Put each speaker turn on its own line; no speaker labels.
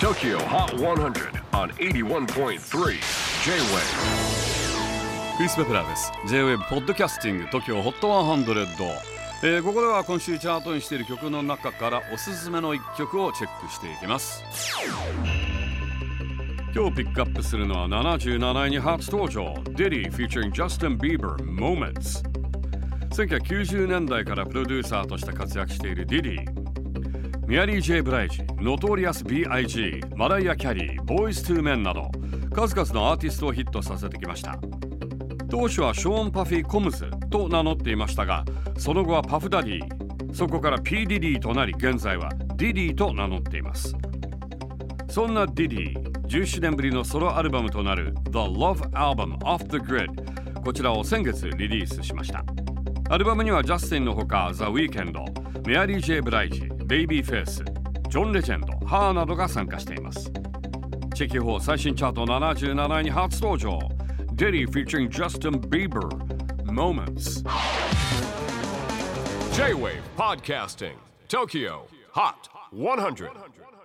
TOKYO HOT 100 on 81.3 J-WAVE
クリス・ベプラーです。 J-WAVE ポッドキャスティング TOKYO HOT 100、ここでは今週チャートにしている曲の中からおすすめの一曲をチェックしていきます。今日ピックアップするのは77位に初登場 Diddy featuring Justin Bieber Moments。 1990年代からプロデューサーとして活躍している Diddy、ミアリー・ジェイ・ブライジ、ノトリアス B.I.G、 マライア・キャリー、ボーイズ・トゥー・メンなど数々のアーティストをヒットさせてきました。当初はショーン・パフィー・コムズと名乗っていましたが、その後はパフダディ、そこから P. ディディとなり、現在はディディと名乗っています。そんなディディ、17年ぶりのソロアルバムとなる The Love Album Off the Grid、 こちらを先月リリースしました。アルバムにはジャスティンのほか The Weeknd、 メアリー・ジェイ・ブライジ、ベイビーフェイス、ジョン・レジェンド、ハーなどが参加しています。チェキホー最新チャート77位に初登場 Diddy featuring Justin Bieber Moments。
J-WAVE PODCASTING TOKYO HOT 100